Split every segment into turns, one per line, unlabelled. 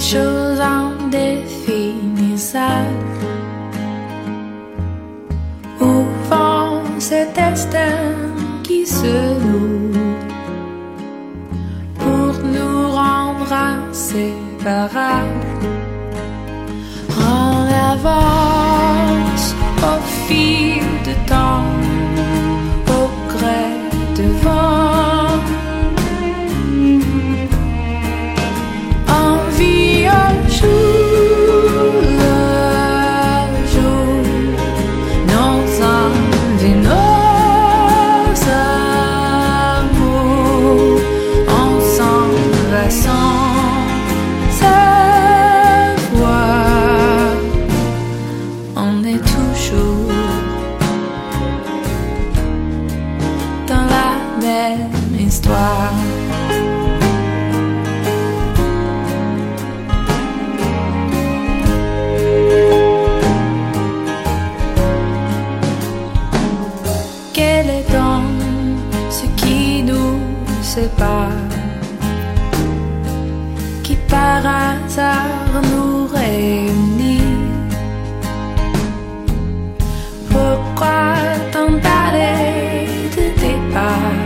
chose indéfinissable. Au fond, cet destin qui se noue pour nous rendre inséparables. On avance au fil du temps, au gré du vent. On vit au jour le jour, nos envies, nos amours, on s'en va sans savoir. On est toujours dans la même histoire. Quel est donc ce qui nous sépare, qui par hasard nous réunit? Pourquoi tant d'arrêts de départ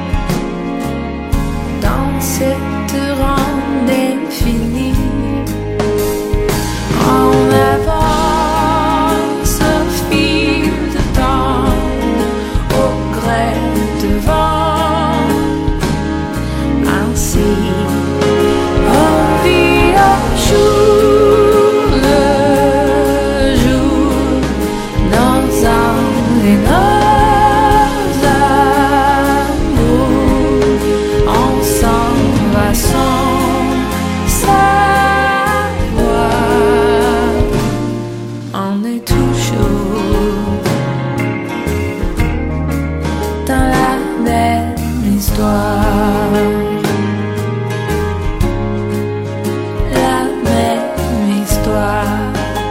dans cette ronde infinie? On avance au fil du temps, au gré du vent. Ainsi, on vit au jour le jour, nos âmes et nos amours, on s'en va sans savoir. On est toujours dans la même histoire. La même histoire.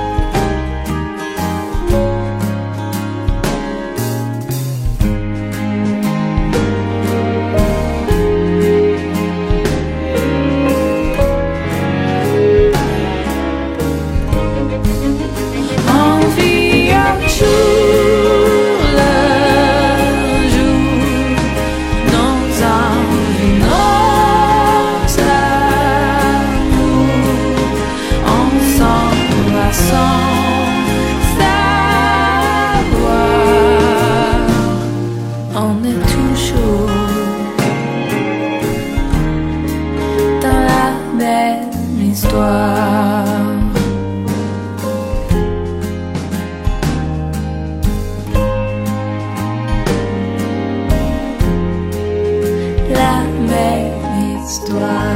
On vit un jour le jour, nos envies, nos amours, on s'en va sans savoir. On est toujours dans la même histoire. La même histoire.